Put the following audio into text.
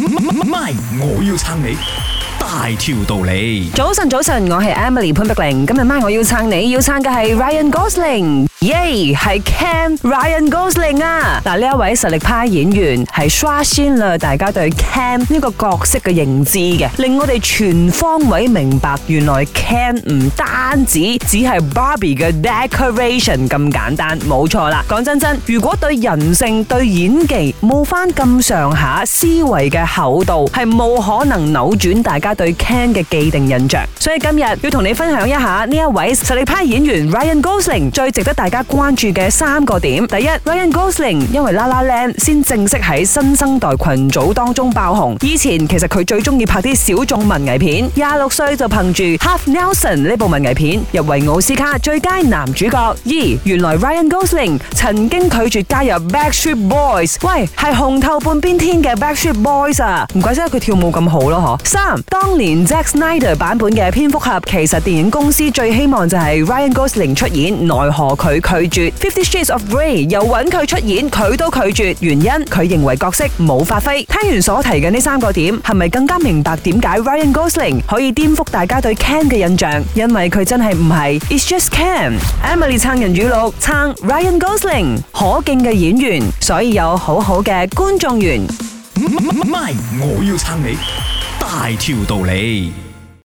MY， 我要撐你大條道理。 早晨，我係 Emily 潘碧玲。今日MY我要撐你，要撐嘅係 Ryan Gosling， 耶，係 Ken Ryan Gosling 啊！嗱，呢一位實力派演員係刷新了大家對 Ken 呢個角色嘅認知嘅，令我哋全方位明白原來 Ken 唔單止只係 Barbie 嘅 decoration 咁簡單，冇錯啦。講真，如果對人性、對演技冇翻咁上下思維嘅厚度，係冇可能扭轉大家對 Ken 嘅既定印象。所以今日要同你分享一下呢一位實力派演員 Ryan Gosling 最值得大家關注嘅3個點。第一， Ryan Gosling 因為 La La Land 先正式喺新生代群組當中爆紅。以前其實佢最中意拍啲小眾文藝片，26歲就憑住 Half Nelson 呢部文藝片入圍奧斯卡最佳男主角。2，原來 Ryan Gosling 曾經拒絕加入 Backstreet Boys， 喂，係紅透半邊天嘅 Backstreet Boys 啊，唔怪之得佢跳舞咁好咯嗬。3，當年 Zack Snyder 版本嘅蝙蝠俠，其實電影公司最希望就係 Ryan Gosling 出演，奈何佢拒絕。50 Shades of Grey 又揾佢出演，佢都拒絕，原因佢認為角色冇發揮。聽完所提嘅呢3個點，係咪更加明白點解 Ryan Gosling 可以顛覆大家對 Ken 嘅印象？因為佢真係唔係 It's just Ken。Emily 撐人語錄，撐 Ryan Gosling， 可敬嘅演員，所以有好好嘅觀眾緣。 MY， 我要撐你大條道理。